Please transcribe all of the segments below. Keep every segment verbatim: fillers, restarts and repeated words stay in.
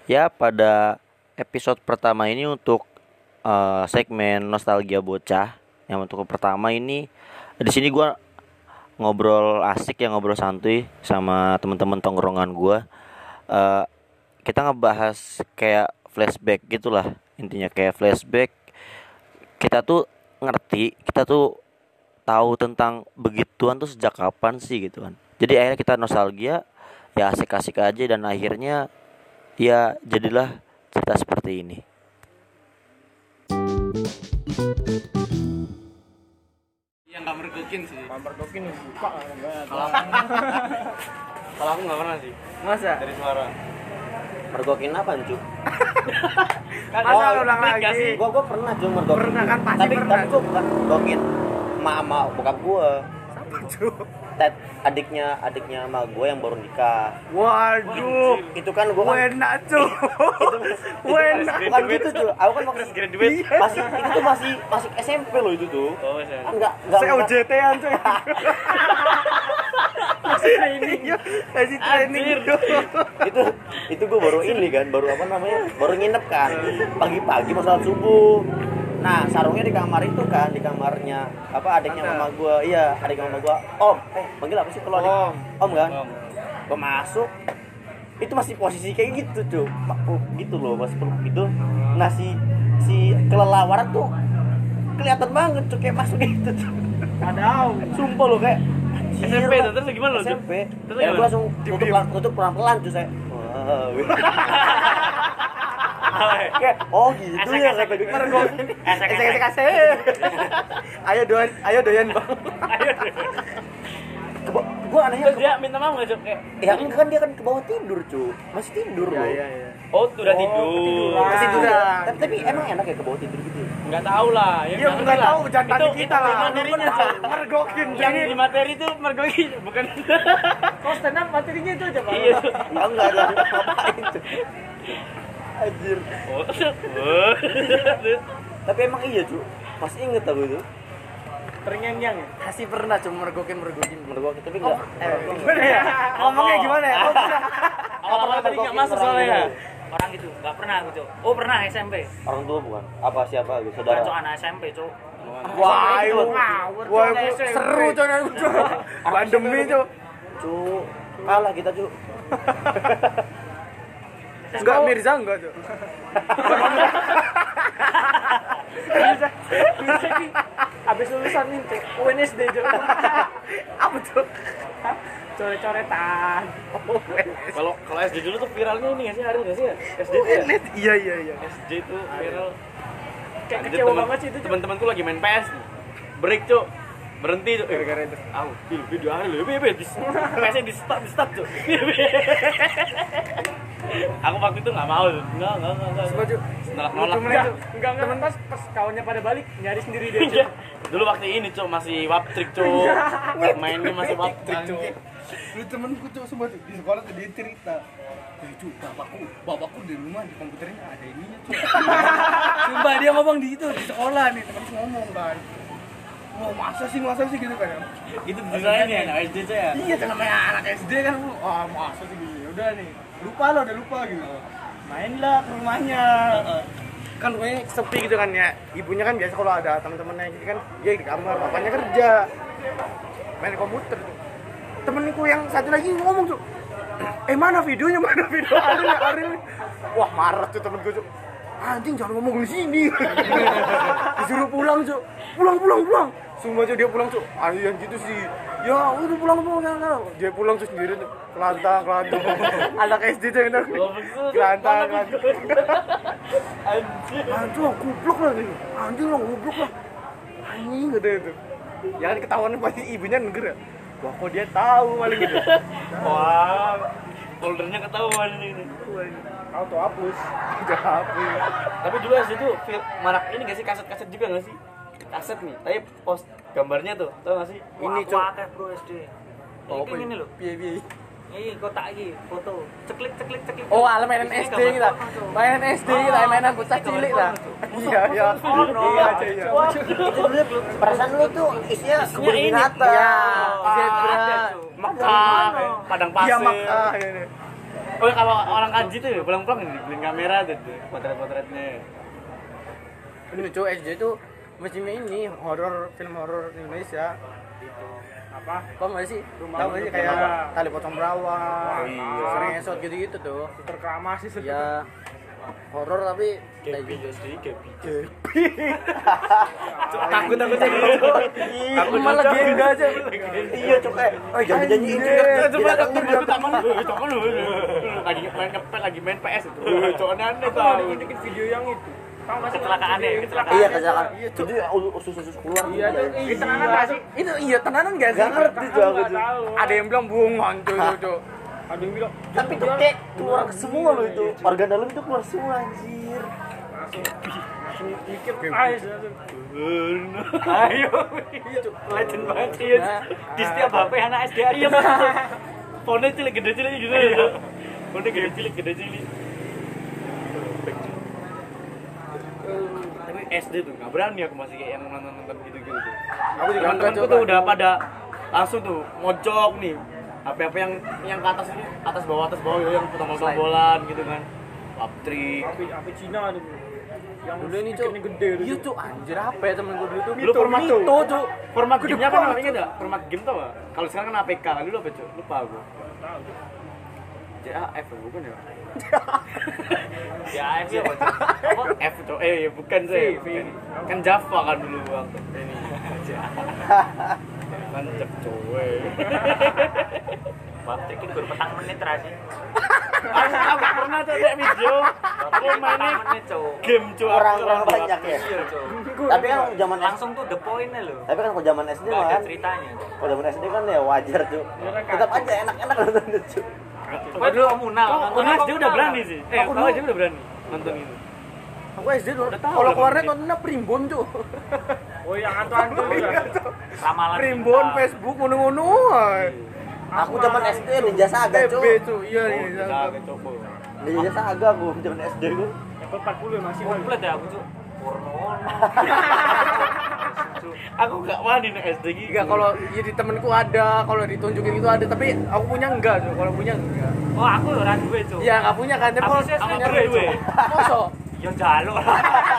Ya, pada episode pertama ini untuk eh, segmen nostalgia bocah. Yang untuk pertama ini di sini gua ngobrol asik ya, ngobrol santuy sama teman-teman tongkrongan gua. Eh, kita ngebahas kayak flashback gitulah. Intinya kayak flashback. Kita tuh ngerti, kita tuh tahu tentang begituan tuh sejak kapan sih gitu kan. Jadi akhirnya kita nostalgia, ya asik-asik aja dan akhirnya ya jadilah cerita seperti ini. Yang nggak mergokin sih. Nggak mergokin nih, buka banget. Kalau aku, kalau aku nggak pernah sih. Masa? Dari suara. Mergokin apa cu? Masa lu ulang trik gak lagi? sih? Gua gua pernah cu mergokin. Pernah kan, pasti tapi, pernah. Tapi gua bukan mergokin mama bokap gua. Apa cu? Ted, adiknya adiknya sama gua yang baru nikah. Waduh, Itu kan gua kan enak cu. Wena, bukan gitu cu. Aku kan Fresh masih graduate. masih itu tuh masih masih S M P loh itu tuh. Oh, saya. Kan enggak enggak Saya O J T-an cu. Masih training, masih training. itu itu gue baru ini kan baru apa namanya baru nginep kan pagi-pagi mau sholat subuh. Nah sarungnya di kamar itu kan di kamarnya apa adiknya mama gue, iya adiknya mama gue om eh panggil apa sih kalau adik Om. om kan Om. gue masuk itu masih posisi kayak gitu cuy peluk gitu loh masih peluk gitu. Nah si si kelelawaran tuh kelihatan banget cuy kayak masuk gitu cuy. Padahal Sumpah lo kayak S M P tuh, terus gimana lo, S M P Terus ya gimana? gue langsung tutup pelan tutup pelan-pelan cuy saya. Wah, gitu. Kayak, oh gitu Esek, ya esek. kata gue. Mergokin. Esek, esek esek esek. esek. Ayo doyan, ayo doyan bang. Keba- Gue anehnya Terus dia minta maaf nggak, Cuk? Kayak, ya enggak kan dia kan ke bawah tidur cuy masih tidur loh. Iya iya. oh, udah Oh, tidur. ketiduran. Masih tidur. Ketiduran. Tapi, tapi emang enak ya ke bawah tidur gitu. Nggak tahu lah. Ya nggak nggak lah. tahu, jangan tanya Itu- kita itu lah. materinya, Cuk. Mergokin. Yang Jadi di materi itu mergokin, bukan. kok stand up materinya itu aja bang. Iya. Ah, enggak ada ngapain cuy. Anjir. Oh, oh. Tapi emang iya cuy. Masih inget aku itu. Terngiang-ngiang ya? Kasih pernah cuma mergokin mergokin. Mergokin tapi enggak. Eh, gimana ya? Ngomongnya gimana ya? Oh, bisa. Awal-awal tadi nggak masuk Orang soalnya. gitu. Orang gitu, nggak pernah aku, Cuk. Oh, pernah S M P. Orang tua bukan? Apa siapa gitu? Bukan, Cuk, Saudara. anak S M P, Cuk. Wah, itu. itu ngawur. Wah, itu seru coy aku coy. Pandemi coy. Cu, kalah kita cu. Enggak Mirza enggak coy. Mirza, Mirza ki habis lulusan nih U N S D coy. Apa tuh? Coret-coretan. Oh, Kalau kalau S D dulu tuh viralnya ini nggak sih, ada nggak sih ya? S D tuh ya? Iya iya iya. S D tuh viral. Kayak Anjir, kecewa temen- banget sih itu. Coy. Teman-temanku lagi main P S nih. Break, Cuk. Berhenti, Cuk. Gara-gara itu. Aku di video hari lho, piye piye di P S-nya di stop, di stop, Cuk. Aku waktu itu enggak mau, Cuk. Enggak, enggak, enggak, enggak. Setuju. Nolak nolak. Enggak, enggak, temen pas pas kawannya pada balik nyari sendiri dia. Iya. Coy. Dulu waktu ini, Cuk, masih wap trick, Cuk. Mainnya masih wap trick, Cuk. Lu temenku tuh semua tuh di sekolah tuh dia cerita. Eh cu, bapakku, bapakku di rumah di komputernya ada ininya cu. Sumpah dia ngomong di itu di sekolah nih temenku ngomong kan. Wah masa sih masa sih gitu kan. Itu desainnya ya, anak S D tuh ya. Iya kan namanya anak S D kan lu. Ah masa sih gitu. Ya udah nih. Lupa lo udah lupa gitu. Mainlah ke rumahnya. Kan rumahnya sepi gitu kan ya. Ibunya kan biasa kalau ada teman-temannya gitu kan dia di kamar, bapaknya kerja. Main komputer. Temenku yang satu lagi ngomong tuh, eh mana videonya, mana video Arin ya Arin. Wah marah tuh temenku tuh, anjing jangan ngomong di sini. Disuruh pulang tuh, pulang pulang pulang. Semua tuh dia pulang tuh, ah yang gitu sih. Ya udah pulang pulang ya. Dia pulang tuh sendiri tuh, kelantang kelantang. Anak S D tuh yang kelantang kelantang. Anjir. Anjing goblok lah gitu, anjing lah goblok lah. Anjing gitu itu. Ya kan ketahuan pasti ibunya neger ya. Wah kok dia tahu maling gitu. Wah, foldernya ketahuan ini. Auto hapus. Udah hapus. Tapi dulu S D tuh fil- marak ini nggak sih, kaset-kaset juga nggak sih? Kaset nih, tapi post gambarnya tuh, tau nggak sih? Ini, Cok. Cok. Akeh bro S D. Oh, Ini ini loh. Piye piye. Ini kotak iki, foto. Ceklik ceklik ceklik. Oh, ala mainan S D kita. Mainan S D kita, mainan bocah cilik lah. Iya iya. Iya aja iya. Itu dulu perasaan lu tuh isinya kebun ini. binatang. Iya. Oh, Zebra. ada, Cok. Mekah, padang Iya pasir. mak ah ini. Oh kalau orang kaji tuh pulang-pulang nih beliin kamera tuh tuh, potret-potretnya. Ini cuy S D itu musimnya ini horor, film horor Indonesia. Itu apa? Kok nggak sih? Rumah Tahu nggak sih Rumah. kayak tali potong berawang, Oh, iya. sering esot gitu-gitu tuh. Terkeramas sih Ya horor tapi Gaby jadi Gaby. Takut takut aja gitu. Aku malah genda aja. Iya cok eh oh jangan janjiin Coba takut takut taman. Coba lu lagi main ngepet lagi main P S itu. Coba aneh Aku mau tahu. bikin video yang itu. Tahu nggak sih? Kecelakaan ya, kecelakaan. iya kecelakaan itu usus usus keluar Iya tuh. Itu tenanan nggak sih? Itu iya tenanan gak sih? Gak ngerti tuh aku Nggak tuh tahu. Ada yang bilang bohongan tuh tuh, tuh. Ada yang bilang. tapi tuh kayak keluar semua loh itu organ dalam itu keluar semua anjir Langsung langsung mikir. Ayo. Ayo. Legend banget sih. Di setiap H P anak S D ada. Fontnya cilik gede cilik gitu. Fontnya gede cilik gede cilik. Tapi S D tuh nggak berani aku masih kayak yang nonton nonton gitu gitu tuh. Aku juga enggak Teman-temanku tuh udah pada langsung tuh mojok nih. Apa-apa yang yang ke atas ini atas bawah atas bawah yang tombol-tombolan gitu kan. Laptrik. Api api Cina tuh. Yang Dulu ini cuy, speakernya gede tuh. iya tuh anjir apa ya temen gue dulu tuh? Dulu format tuh. Mito tuh. Format Gede gamenya apa banget, namanya enggak? Format game tau gak? Kalau sekarang kan A P K, dulu apa cuy? Lupa aku. Tahu tuh. J A F bukan ya? Ya F ya Pak. Apa? F cuy. Eh ya bukan sih. Bukan. Kan Java kan dulu waktu ini. Kan cep cuy. Baptik itu baru petang menit terakhir. Aku aku pernah tuh lihat video. Aku mainnya menit, Cuk. game cuy. orang-orang banyak ya Iya, Cuk. tapi kan zaman S Langsung tuh the point-nya loh. tapi kan kalau zaman S D Enggak ada kan ceritanya. kalau zaman S D kan ya wajar tuh tetap aja enak-enak nonton itu Gua dulu komunal. Kok nontonnya Unas dia udah komunal. berani sih. Eh, Aku aku dulu- aja udah berani nonton itu. Aku S D dulu. Udah tahu Kalau lah, keluarnya berarti. nontonnya Primbon tuh. Oh yang hantu-hantu Iya, tuh. Ramalan Primbon, cinta. Facebook, ngono-ngono. aku zaman S D Ninja Saga T B cuy tuh, iya Oh, iya. bisa agak coba. Ninja Saga aku zaman S D gue Level empat puluh masih masih. Komplit ya aku, Cuk. Porno. Aku gak wani nih S D gitu. Enggak kalau ya di temenku ada, kalau ditunjukin itu ada, tapi aku punya enggak tuh. Kalau punya enggak. Oh, aku ora duwe, Cuk. Iya, enggak punya kan. Tapi Aku kalau sih aku punya pernah duit, duwe. Cuk. Mosok? Ya jaluk lah.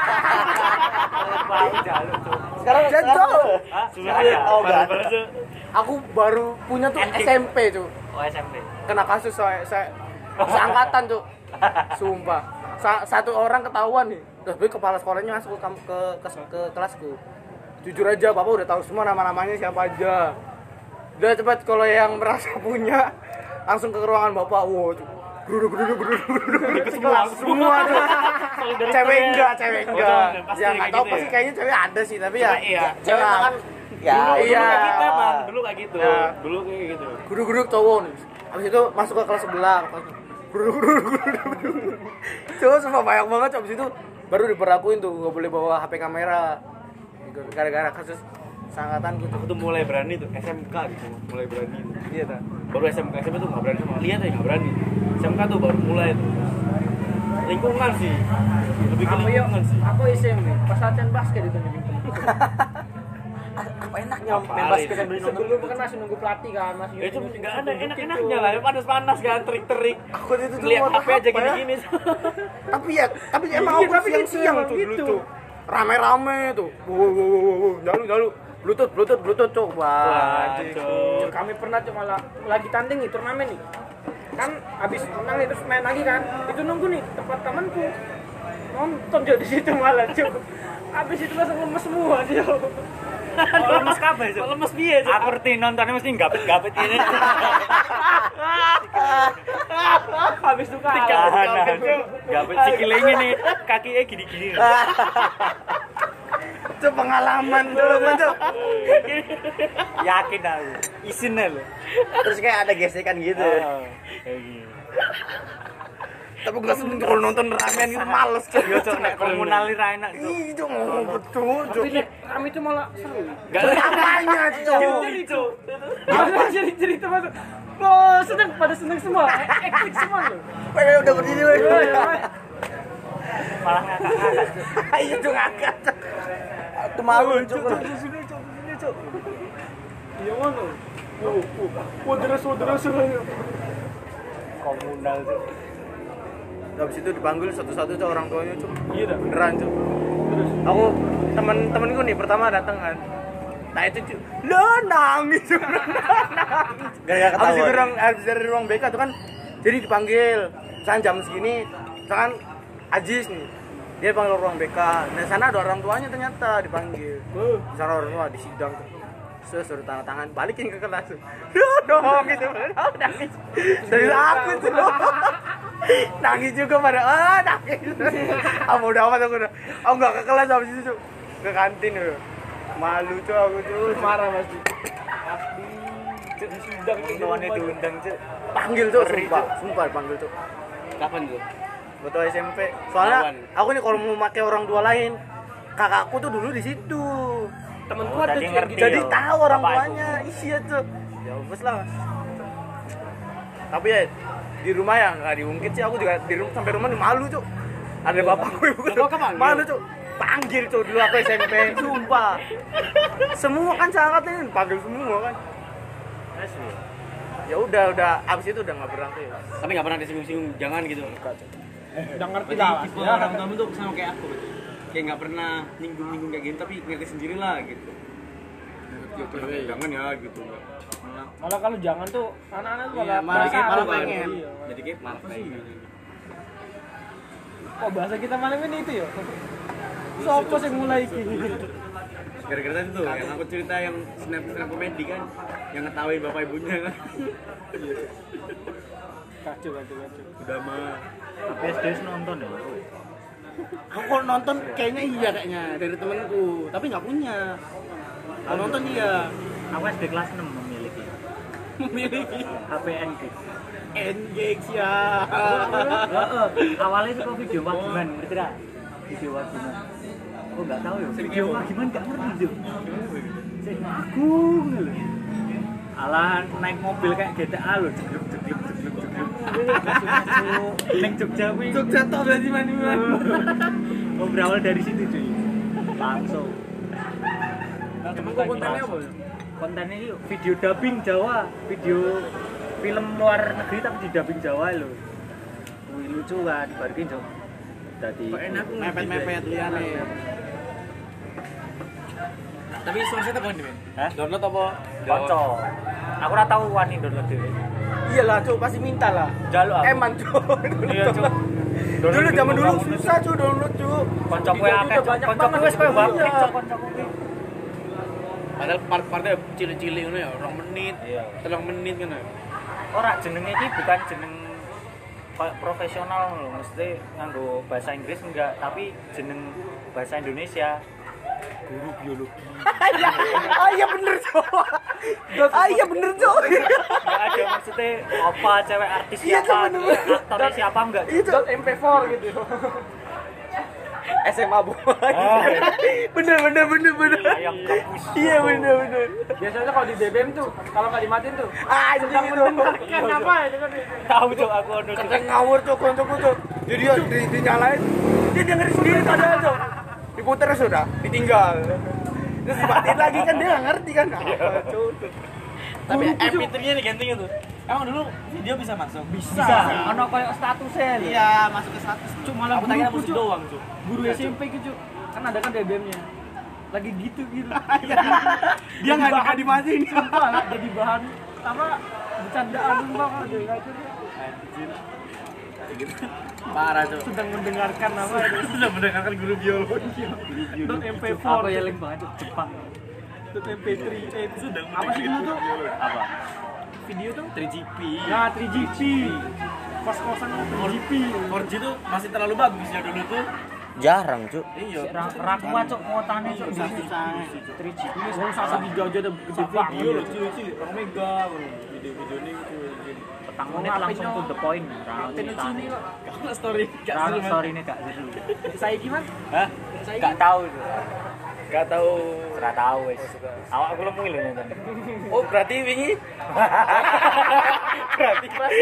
Bau jaluk, Cuk. sekarang Jatuh. sekarang Hah? Sudah Ada. Oh, enggak. baru aja. Aku baru punya tuh Anjing. S M P tuh. Oh, S M P. Kena kasus saya, saya seangkatan tuh. Sumpah. Sa- satu orang ketahuan nih. Terus gue kepala sekolahnya masuk ke, kam- ke, ke, ke kelasku. Jujur aja, Bapak udah tahu semua nama-namanya siapa aja. Udah cepat kalau yang merasa punya langsung ke ruangan Bapak. Wow, tuh. Geruduk geruduk geruduk geruduk semua semua tuh. Cewek enggak, cewek enggak. Pasti Ya kayak enggak tahu gitu pasti ya. kayaknya cewek ada sih, tapi ya. Cuma iya. cewek Ya. kan ya Dulu, Iya. dulu kayak gitu emang, dulu kayak gitu. Ya. Dulu kayak gitu. Geruduk-geruduk cowok nih. Habis itu masuk ke kelas sebelah. Geruduk-geruduk geruduk. Cowok semua banyak banget habis itu baru diperlakuin tuh nggak boleh bawa H P kamera. Gitu, gara-gara kasus seangkatan gitu. Aku tuh mulai berani tuh S M K gitu, mulai berani. Tuh. Iya ta. Baru S M K, S M P tuh nggak berani sama lihat aja nggak berani. S M K tuh baru mulai tuh. Lingkungan sih, lebih ke Aku ya, lingkungan sih. aku S M P pas latihan basket itu nih. apa enaknya Apa main hari basket sambil nonton Sebelum kan masih nunggu pelatih kan, masih. Ya itu nggak ada enak-enaknya lah, panas-panas kan, terik-terik. aku itu tuh Lihat mau H P aja apa ya? gini-gini. Tapi ya, tapi emang Iya, aku tapi siang-siang gitu, tuh dulu gitu. tuh. Rame-rame tuh. Wow, wow, wow, wow. Jalu, jalu. Bluetooth, bluetooth, bluetooth tuh. Wah, Wah, Cuk. Kami pernah tuh malah lagi tanding nih turnamen nih. Kan habis menang nih terus main lagi kan. Itu nunggu nih tempat temanku. Nonton juga di situ malah, Cuk. Habis itu langsung lemes semua dia. Oh, lemes kabeh, Cuk. Lemes piye, Cuk? Aku ngerti nontonnya mesti gapet-gapet ini. Habis itu kalah. Tahanan. Gapet sikilnya nih, kakinya gini-gini. itu pengalaman dulu tuh. Yakin aku. Isinnya loh. terus kayak ada gesekan gitu Ah, kayak gini. Tapi gue seneng kalau nonton ramean itu males. Cuk. Yo, Cuk, nek komunal ini ra enak, Cuk. Ih, itu ngomong betul, Cuk. Tapi nek kami itu malah seru. Enggak Apanya, Cuk? Jadi Cuk. Apa jadi cerita masuk. Oh, seneng pada seneng semua. Eklik semua loh. Weh, udah berdiri weh Malah ngakak-ngakak, Cuk. Ayo Cuk ngangkat. itu malu cuk Sini Cuk, sini Cuk. Iya mana? Oh, oh. Oh, deras, oh, deras. komunal tuh. Habis itu dipanggil satu-satu tuh orang tuanya tuh. Iya dah. Beneran tuh. Aku teman-temanku nih pertama datang kan. Nah itu tuh, lo nangis. Gara-gara Habis itu ketahuan. ruang, habis dari ruang B K tuh kan, jadi dipanggil. Misalkan jam segini, misalkan Ajis nih, dia panggil ruang B K. Nah sana ada orang tuanya ternyata dipanggil. Di sana orang tua di sidang tuh. Terus suruh tanda tangan, balikin ke kelas. Duh, dong gitu, oh, nangis. Dari aku tuh, nangis juga pada, ah nangis. Ah udah amat aku udah, aku nggak ke kelas habis itu, ke kantin tuh. Malu tuh aku tuh, Marah pasti. Sidang tuannya diundang tuh. panggil tuh, sumpah, sumpah panggil tuh. Kapan tuh? Betul S M P. Soalnya Lawan. aku nih kalau mau pakai orang tua lain, kakakku tuh dulu di situ. Temenku Oh, ada jadi tuh ngerti. gitu. Jadi Iya, tahu orang bapak tuanya, iya tuh. Ya wes lah. Tapi ya di rumah ya nggak diungkit sih, aku juga di rumah sampai rumah nih malu tuh. Ada bapakku ibu Bapak kepanggil? malu tuh. Panggil tuh dulu aku S M P, sumpah. Semua kan sangat ini panggil semua kan. Ya udah udah abis itu udah nggak pernah tuh ya. Tapi nggak pernah disinggung-singgung, jangan gitu. Udah ngerti Berarti lah. tipe Ya. orang kamu tuh sama kayak aku berarti. Kayak nggak pernah nyinggung-nyinggung kayak gini, tapi ngerti sendiri lah gitu. Jangan ya gitu. Malah Malah kalau jangan tuh anak-anak tuh Iya, malah malah penasaran malah kan. pengen. Iya. Jadi kayak apa sih? Kok bahasa kita malam ini itu ya? Sopo sing mulai iki? Gara-gara tadi tuh yang aku cerita yang snap snap komedi kan, yang ngetawain bapak ibunya kan. Kacau kacau kacau. Udah mah. Tapi S D nonton ya. Aku kalau nonton kayaknya iya kayaknya dari temenku, tapi nggak punya. Kalau nonton iya. Aku S D kelas enam memiliki Memiliki H P N G. Engage ya. Awalnya itu kok video wagiman, ngerti gak? Video wagiman. Oh nggak tahu ya. Video wagiman nggak ngerti tuh. Sing agung lho. Alah naik mobil kayak G T A lho, jegluk jegluk jegluk jegluk. Masuk ning Jogja kuwi. Jogja toh berarti mana-mana. Oh berawal dari situ cuy. Langsung. Emang kok kontennya apa? Kontennya itu video dubbing Jawa, video film luar negeri tapi di dubbing Jawa lho. Wih lucu kan, dibalikin Jok. Tadi Enak mepet-mepet liane. Tapi source-nya apa nih, Men? Hah? Download apa? Konco. Aku ora tau wani download dhewe. Iyalah cuy, pasti minta lah. Jaluk aku. Eman cuy. Iya, Cuk. Dulu zaman dulu susah cuy download cuy. Konco kowe Udah akeh, Cuk. banyak Konco banget. kowe wis kowe Iya. bangkit Cuk konco kowe. Padahal part-partnya cilik-cilik ngono ya, dua menit, Iya. tiga menit kan ya. Ora jenenge iki bukan jeneng kayak profesional lho, mesti nganggo bahasa Inggris enggak, tapi jeneng bahasa Indonesia. Guru biologi. Ah iya bener cuy. Ah iya bener cuy. Enggak ada maksudnya apa cewek artis Iya, siapa, Cuk, bener-bener. aktornya siapa enggak. Itu M P empat gitu. S M A boy. Bener bener bener bener. Ayam kampus. Iya bener bener. Biasanya kalau di B B M tuh, kalau nggak dimatiin tuh, Ah sedang itu. kan apa itu kan? Tahu Cuk aku ono Cuk. Kenceng ngawur tuh koncoku tuh. Jadi dia di, dinyalain. Dia dengerin sendiri padahal tuh. Diputer sudah, ditinggal. Terus dimatiin lagi kan dia nggak ngerti kan. Apa cuy. Tapi M P tiga-nya digantinya tuh. Emang dulu video bisa masuk? Bisa. Ono koyo statusnya lho. Iya, masuk ke status. Cuma malah Aku tanya guruku, musik Cuk. doang, Cuk. Guru S M P gitu, kan ada kan B B M-nya. Lagi gitu gitu. Dia nggak nggak dimatiin. Sumpah, lah, jadi bahan apa bercandaan banget deh ngaco dia. Parah, Cuk. Sedang mendengarkan apa itu. Sudah mendengarkan guru biologi. Dot M P Aku empat, yeling banget Cuk, Jepang. dot M P tiga, eh, itu Sudah apa sih dulu tuh? Apa? Video tuh tiga G P. nah tiga G P, kos-kosan tiga G P. empat G tuh masih terlalu bagus ya dulu tuh. Jarang Cuk. Iya. Rakwa Cuk kuotane Cuk. Susah-susah. tiga G. Ini wong sasa di jauh aja udah gede Video video. loh, cuy, cuy. Orang mega video-video ini gitu. Petang menit langsung to the point. Raut sini kok. Karena story gak Raut seru, Man. story ini Kak seru. Saya gimana? Hah? Gak tahu Cuk. Gak tahu. Ora tahu wis. Awak aku lemu lho nonton. Oh, berarti wingi Berarti pas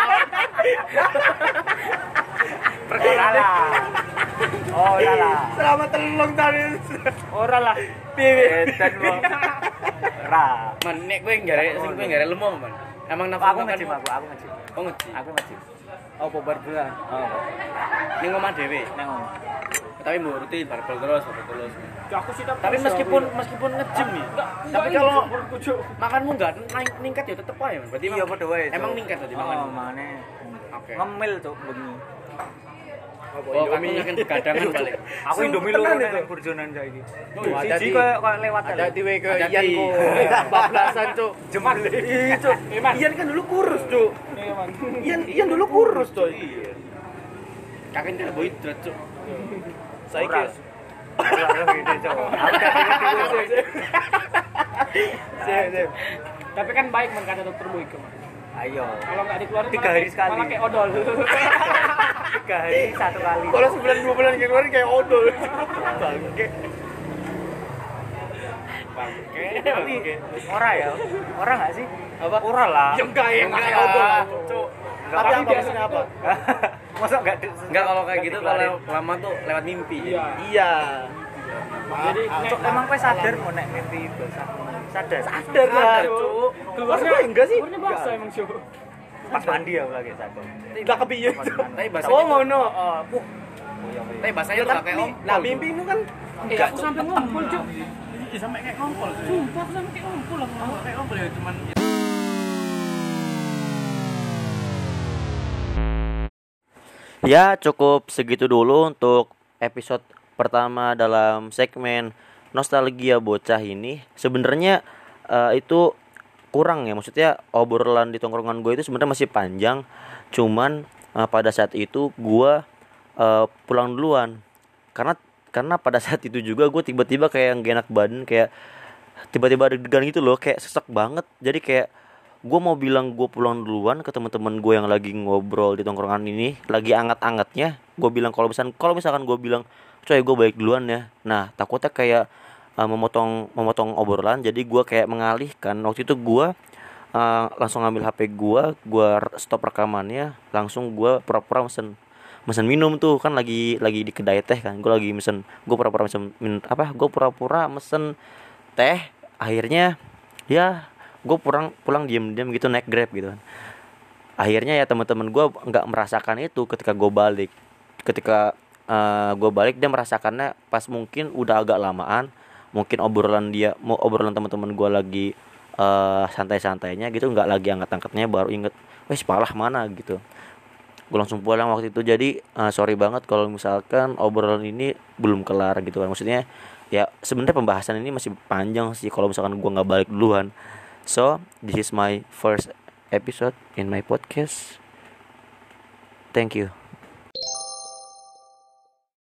Perkara lah. Oh, ora lah. Selamat telung tahun. Ora lah. Piye? Edan wong. Ra. Man, nek kowe enggak rek sing kowe enggak rek lemong, Man. Emang nafsu Aku makan ngejim aku, aku ngejim. Oh, ngejim. Aku ngejim. Apa bar-baran? Oh, Ning omah dhewe. nang omah. Tapi mau rutin barbel terus, barbel terus. Aku sih Tapi meskipun meskipun ngejim nih, tapi kalau makanmu enggak naik ningkat ya tetep aja, Man. Berarti Iya emang- padha wae. Emang ningkat tadi Oh, makanmu. mane. Oke. Ngemil tuh bengi. Oh, aku akan begadangan balik. Aku Indomie lho nang burjonan saiki. Oh, Siji koyo koyo lewat Ada tiwe ke Hati-hati. Ian ku bablasan cuk. jemale. Ih cuk. Ian kan dulu kurus cuk. Ian Ian dulu kurus cuk. Kakek tidak bawa hidrat, Cuk. Saiki Ora gede cok. Aku gak ngerti. sih sih. Tapi kan baik man kata dokter Boyke. Man. Ayo. Kalau nggak dikeluarin Tiga malah hari kayak- sekali. Malah kayak odol. Tiga hari satu kali. Kalau sebulan dua bulan keluarin kayak odol. Bangke. Bangke. Tapi ora ya. Ora enggak sih? Apa? Ora lah. Ya enggak ya, enggak kayak odol cuk. Tapi apa maksudnya apa? Masa enggak Enggak kalau kayak gitu kalau lama tuh lewat mimpi. Iya. Iya. Jadi Cuk, emang kowe sadar mau nek mimpi basah? Sadar. Sadar lah cuk. keluarnya Masa enggak sih? Keluarnya basah emang sih. Pas mandi aku lagi sadar. Enggak kepiye. Tapi bahasanya Oh tuh- ngono. Oh, puh. Tapi bahasanya tuh kayak om. Nah, mimpimu kan Eh, aku sampai ngumpul, Cuk. Iya, sampai kayak ngompol. Sumpah aku sampai kayak ngumpul lah. Kayak ngompol ya cuman Ya, cukup segitu dulu untuk episode pertama dalam segmen Nostalgia Bocah ini. Sebenarnya eh, itu kurang ya, maksudnya obrolan di tongkrongan gue itu sebenarnya masih panjang. Cuman eh, pada saat itu gue eh, pulang duluan. Karena karena pada saat itu juga gue tiba-tiba kayak gak enak badan, kayak tiba-tiba deg-degan gitu loh, kayak sesek banget. Jadi kayak gue mau bilang gue pulang duluan ke teman-teman gue yang lagi ngobrol di tongkrongan ini, lagi anget-angetnya. Gue bilang kalau misalkan kalau misalkan gue bilang coy gue balik duluan ya, nah takutnya kayak uh, memotong memotong obrolan. Jadi gue kayak mengalihkan. Waktu itu gue uh, langsung ngambil H P gue, gue stop rekamannya, langsung gue pura-pura mesen mesen minum tuh, kan lagi lagi di kedai teh kan. Gue lagi mesen, gue pura-pura mesen min, apa gue pura-pura mesen teh. Akhirnya ya gue pulang pulang diem-diem gitu, naik Grab gitu kan. Akhirnya ya teman-teman gue nggak merasakan itu ketika gue balik. Ketika uh, gue balik dia merasakannya pas mungkin udah agak lamaan. Mungkin obrolan dia mau obrolan teman-teman gue lagi uh, santai-santainya gitu, nggak lagi angkat-angkatnya, baru inget wes palah mana gitu. Gue langsung pulang waktu itu. Jadi uh, sorry banget kalau misalkan obrolan ini belum kelar gitu kan. Maksudnya ya sebenarnya pembahasan ini masih panjang sih kalau misalkan gue nggak balik duluan. So, this is my first episode in my podcast. Thank you.